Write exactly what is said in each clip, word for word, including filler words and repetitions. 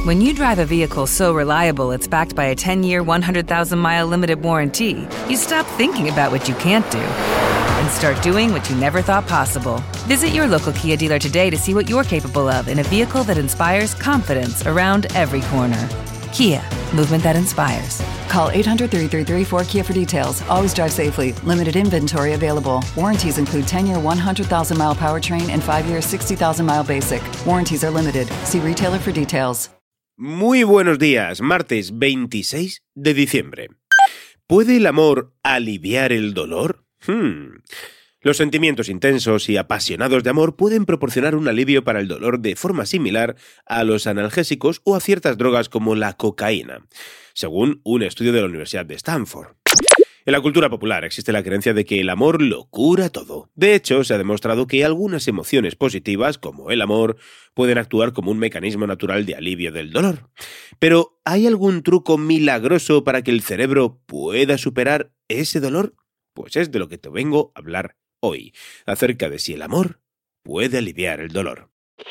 When you drive a vehicle so reliable it's backed by a ten-year, one hundred thousand mile limited warranty, you stop thinking about what you can't do and start doing what you never thought possible. Visit your local Kia dealer today to see what you're capable of in a vehicle that inspires confidence around every corner. Kia, movement that inspires. Call eight hundred, three three three, four K I A for details. Always drive safely. Limited inventory available. Warranties include ten-year, one hundred thousand mile powertrain and five-year, sixty thousand mile basic. Warranties are limited. See retailer for details. Muy buenos días, martes veintiséis de diciembre. ¿Puede el amor aliviar el dolor? Hmm. Los sentimientos intensos y apasionados de amor pueden proporcionar un alivio para el dolor de forma similar a los analgésicos o a ciertas drogas como la cocaína, según un estudio de la Universidad de Stanford. En la cultura popular existe la creencia de que el amor lo cura todo. De hecho, se ha demostrado que algunas emociones positivas, como el amor, pueden actuar como un mecanismo natural de alivio del dolor. Pero, ¿hay algún truco milagroso para que el cerebro pueda superar ese dolor? Pues es de lo que te vengo a hablar hoy, acerca de si el amor puede aliviar el dolor.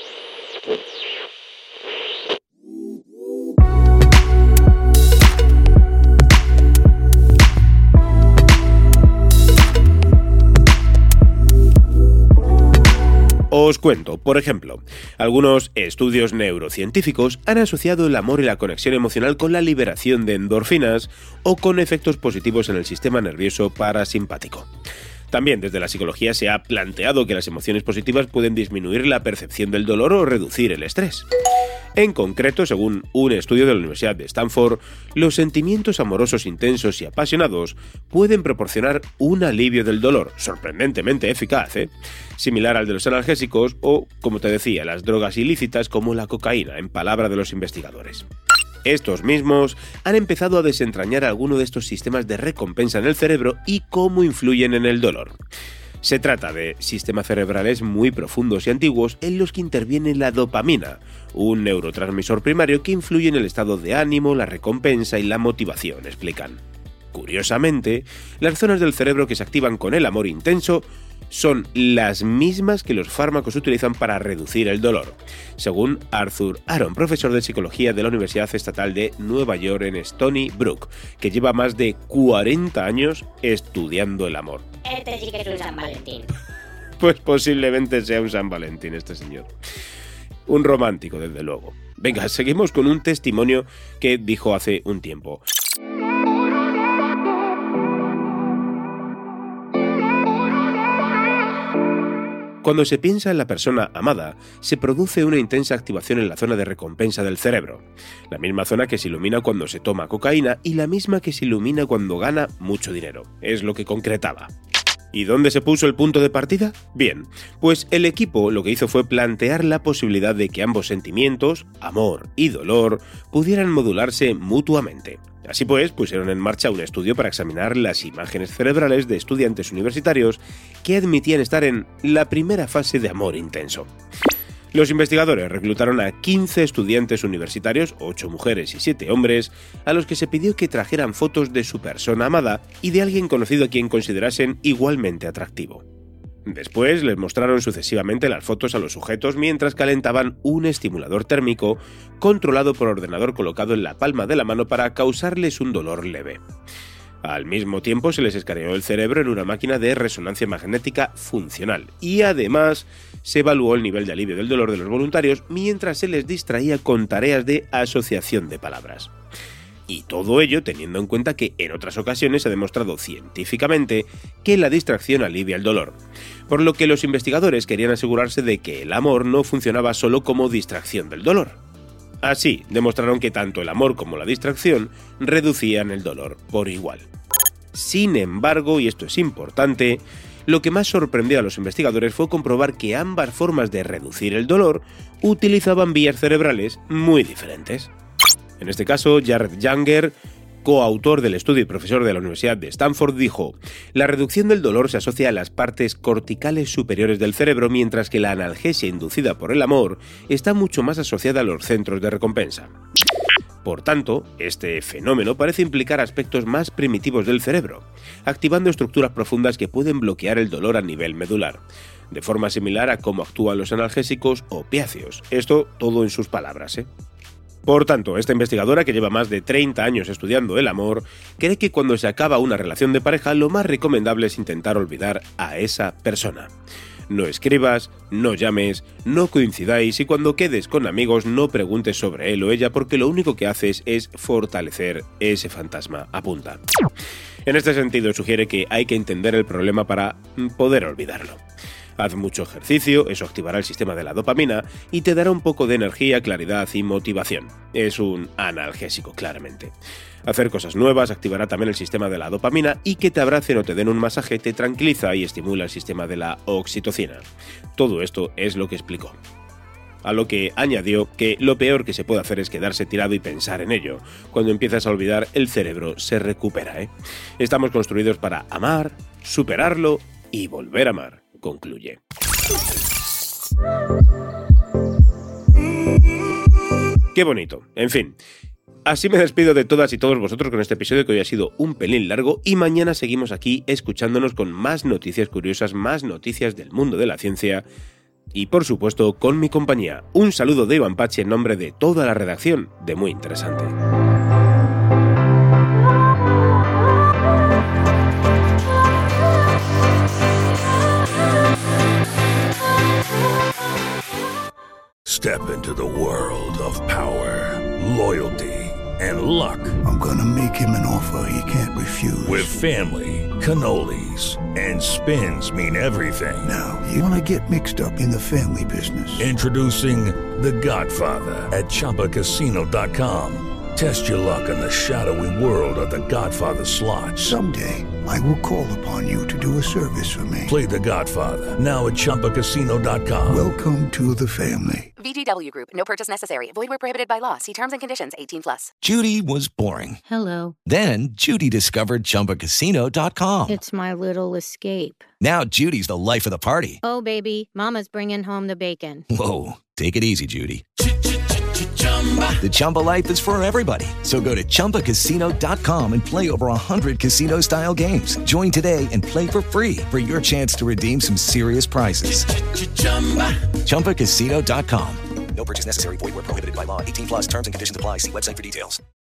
Os cuento, por ejemplo, algunos estudios neurocientíficos han asociado el amor y la conexión emocional con la liberación de endorfinas o con efectos positivos en el sistema nervioso parasimpático. También desde la psicología se ha planteado que las emociones positivas pueden disminuir la percepción del dolor o reducir el estrés. En concreto, según un estudio de la Universidad de Stanford, los sentimientos amorosos intensos y apasionados pueden proporcionar un alivio del dolor, sorprendentemente eficaz, ¿eh? Similar al de los analgésicos o, como te decía, las drogas ilícitas como la cocaína, en palabra de los investigadores. Estos mismos han empezado a desentrañar alguno de estos sistemas de recompensa en el cerebro y cómo influyen en el dolor. Se trata de sistemas cerebrales muy profundos y antiguos en los que interviene la dopamina, un neurotransmisor primario que influye en el estado de ánimo, la recompensa y la motivación, explican. Curiosamente, las zonas del cerebro que se activan con el amor intenso son las mismas que los fármacos utilizan para reducir el dolor, según Arthur Aron, profesor de psicología de la Universidad Estatal de Nueva York en Stony Brook, que lleva más de cuarenta años estudiando el amor. Este sí que es un San Valentín. Pues posiblemente sea un San Valentín este señor. Un romántico, desde luego. Venga, seguimos con un testimonio que dijo hace un tiempo. Cuando se piensa en la persona amada, se produce una intensa activación en la zona de recompensa del cerebro, la misma zona que se ilumina cuando se toma cocaína y la misma que se ilumina cuando gana mucho dinero, es lo que concretaba. ¿Y dónde se puso el punto de partida? Bien, pues el equipo lo que hizo fue plantear la posibilidad de que ambos sentimientos, amor y dolor, pudieran modularse mutuamente. Así pues, pusieron en marcha un estudio para examinar las imágenes cerebrales de estudiantes universitarios que admitían estar en la primera fase de amor intenso. Los investigadores reclutaron a quince estudiantes universitarios, ocho mujeres y siete hombres, a los que se pidió que trajeran fotos de su persona amada y de alguien conocido a quien considerasen igualmente atractivo. Después les mostraron sucesivamente las fotos a los sujetos mientras calentaban un estimulador térmico controlado por ordenador colocado en la palma de la mano para causarles un dolor leve. Al mismo tiempo se les escaneó el cerebro en una máquina de resonancia magnética funcional y además se evaluó el nivel de alivio del dolor de los voluntarios mientras se les distraía con tareas de asociación de palabras. Y todo ello teniendo en cuenta que en otras ocasiones se ha demostrado científicamente que la distracción alivia el dolor, por lo que los investigadores querían asegurarse de que el amor no funcionaba solo como distracción del dolor. Así, demostraron que tanto el amor como la distracción reducían el dolor por igual. Sin embargo, y esto es importante, lo que más sorprendió a los investigadores fue comprobar que ambas formas de reducir el dolor utilizaban vías cerebrales muy diferentes. En este caso, Jared Younger, coautor del estudio y profesor de la Universidad de Stanford, dijo: la reducción del dolor se asocia a las partes corticales superiores del cerebro, mientras que la analgesia inducida por el amor está mucho más asociada a los centros de recompensa. Por tanto, este fenómeno parece implicar aspectos más primitivos del cerebro, activando estructuras profundas que pueden bloquear el dolor a nivel medular, de forma similar a cómo actúan los analgésicos opiáceos. Esto todo en sus palabras, ¿eh? Por tanto, esta investigadora, que lleva más de treinta años estudiando el amor, cree que cuando se acaba una relación de pareja, lo más recomendable es intentar olvidar a esa persona. No escribas, no llames, no coincidáis y cuando quedes con amigos no preguntes sobre él o ella porque lo único que haces es fortalecer ese fantasma, apunta. En este sentido, sugiere que hay que entender el problema para poder olvidarlo. Haz mucho ejercicio, eso activará el sistema de la dopamina y te dará un poco de energía, claridad y motivación. Es un analgésico, claramente. Hacer cosas nuevas activará también el sistema de la dopamina y que te abracen o te den un masaje te tranquiliza y estimula el sistema de la oxitocina. Todo esto es lo que explicó. A lo que añadió que lo peor que se puede hacer es quedarse tirado y pensar en ello. Cuando empiezas a olvidar, el cerebro se recupera, ¿eh? Estamos construidos para amar, superarlo y volver a amar, concluye. Qué bonito. En fin. Así me despido de todas y todos vosotros con este episodio que hoy ha sido un pelín largo y mañana seguimos aquí escuchándonos con más noticias curiosas, más noticias del mundo de la ciencia y por supuesto con mi compañía. Un saludo de Iván Pachi en nombre de toda la redacción de Muy Interesante. Step into the world of power, loyalty, and luck. I'm gonna make him an offer he can't refuse. With family, cannolis, and spins mean everything. Now, you wanna get mixed up in the family business. Introducing The Godfather at Chumba Casino dot com. Test your luck in the shadowy world of The Godfather slot. Someday, I will call upon you to do a service for me. Play The Godfather, now at Chumba Casino dot com. Welcome to the family. V G W Group. No purchase necessary. Void where prohibited by law. See terms and conditions. eighteen plus. Judy was boring. Hello. Then Judy discovered Chumba Casino dot com. It's my little escape. Now Judy's the life of the party. Oh, baby, mama's bringing home the bacon. Whoa, take it easy, Judy. The Chumba life is for everybody. So go to Chumba Casino dot com and play over one hundred casino-style games. Join today and play for free for your chance to redeem some serious prizes. Chumba Casino dot com. No purchase necessary. Void where prohibited by law. eighteen plus terms and conditions apply. See website for details.